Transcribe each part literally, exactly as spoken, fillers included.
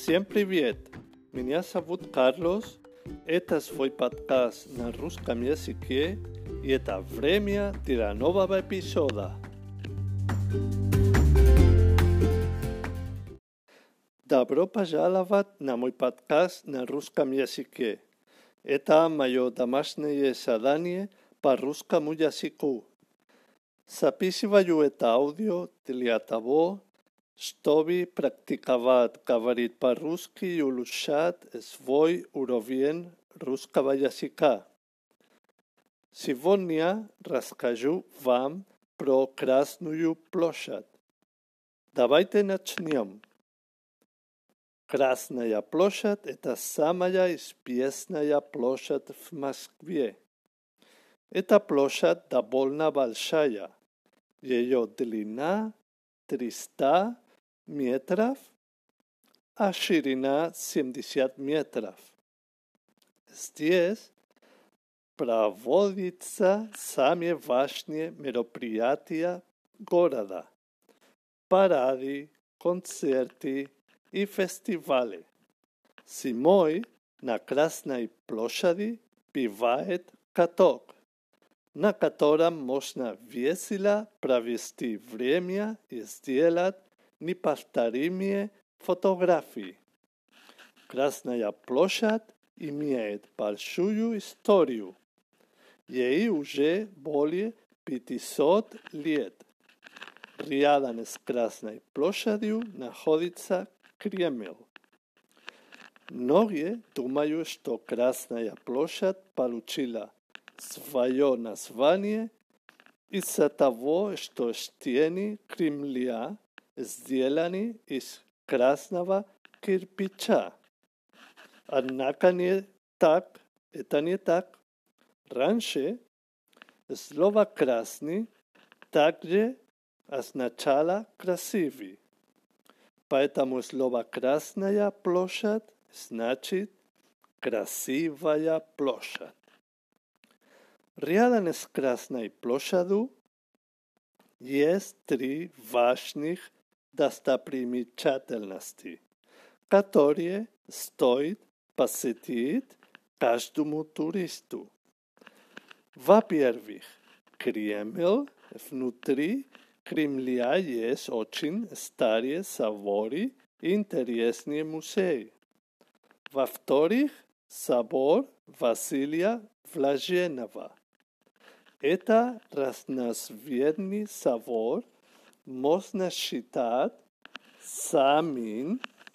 Всем привет! Меня зовут Карлос. Это свой подкаст на русском языке, и это время для нового эпизода. Добро пожаловать на мой подкаст на русском языке. Это мое домашнее задание по русскому языку. Записываю это аудио для того, чтобы практиковать говорить по-русски и улучшать свой уровень русского языка. Сегодня расскажу вам про Красную площадь. Давайте начнем. Красная площадь – это самая известная площадь в Москве. Эта площадь довольно большая. Ее длина триста метров, а ширина семьдесят метров. Здесь проводятся самые важные мероприятия города: парады, концерты и фестивали. Зимой на Красной площади бывает каток, на котором можно весело провести время и сделать неповторимые фотографии. Красная площадь имеет большую историю. Ей уже более пятисот лет. Рядом с Красной площадью находится Кремль. Многие думают, что Красная площадь получила свое название из-за того, что стены Кремля сделаны из красного кирпича. Однако не так, это не так. Раньше слово «красный» также означало «красивый». Поэтому слово «Красная площадь» значит «красивая площадь». Рядом с Красной площадью есть три важных достопримечательности, которые стоит посетить каждому туристу. Во-первых, Кремль. Внутри Кремля есть очень старые соборы и интересные музеи. Во-вторых, собор Василия Блаженного. Это разноцветный собор можно считать самым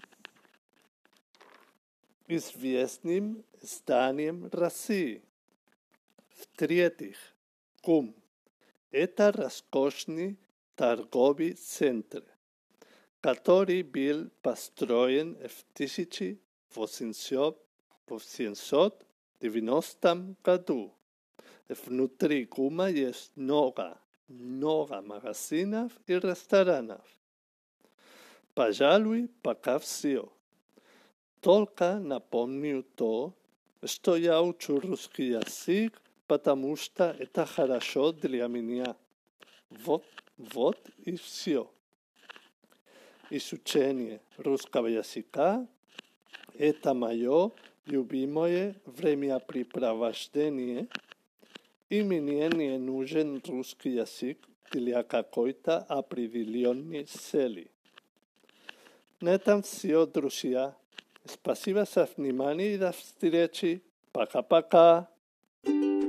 известным зданием России. В-третьих, КУМ. Это роскошный торговый центр, который был построен в тысяча восемьсот девяностом году. Внутри КУМа есть много, много магазинов и ресторанов. Пожалуй, пока все. Только напомню то, что я учу русский язык, потому что это хорошо для меня. Вот, вот и все. Изучение русского языка – это мое любимое времяпрепровождение, и мне не нужен русский язык для какой-то определенной цели. На этом все, друзья. Спасибо за внимание и до встречи. Пока-пока.